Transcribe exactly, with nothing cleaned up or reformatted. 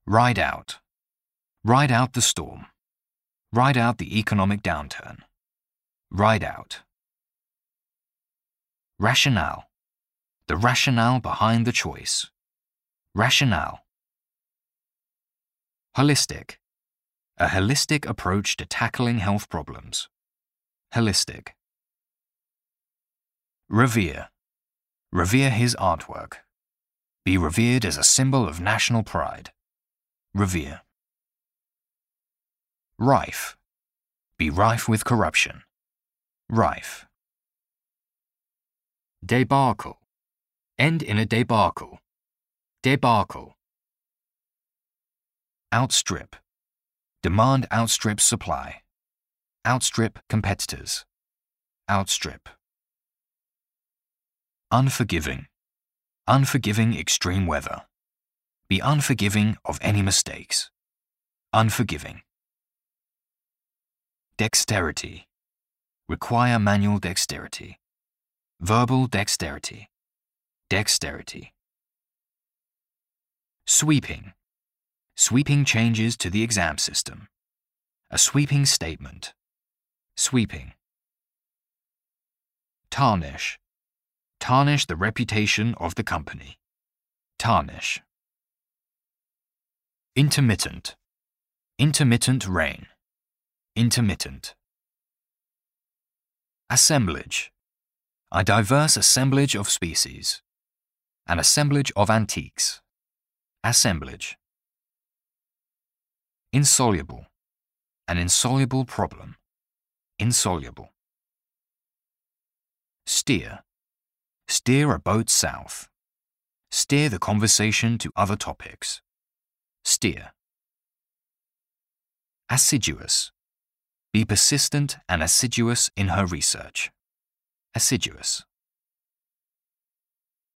Ride out. Ride out the storm. Ride out the economic downturn. Ride out. Rationale. The rationale behind the choice. Rationale. Holistic. A holistic approach to tackling health problems. Holistic. Revere. Revere his artwork. Be revered as a symbol of national pride. Revere. Rife. Be rife with corruption. Rife. Debacle. End in a debacle. Debacle. Outstrip. Demand outstrips supply. Outstrip competitors. Outstrip. Unforgiving. Unforgiving extreme weather. Be unforgiving of any mistakes. Unforgiving. Dexterity. Require manual dexterity. Verbal dexterity. Dexterity. Sweeping. Sweeping changes to the exam system. A sweeping statement. Sweeping. Tarnish. Tarnish the reputation of the company. Tarnish. Intermittent. Intermittent rain. Intermittent. Assemblage. A diverse assemblage of species. An assemblage of antiques. Assemblage. Insoluble. An insoluble problem. Insoluble. Steer. Steer a boat south. Steer the conversation to other topics. Steer. Assiduous. Be persistent and assiduous in her research. Assiduous.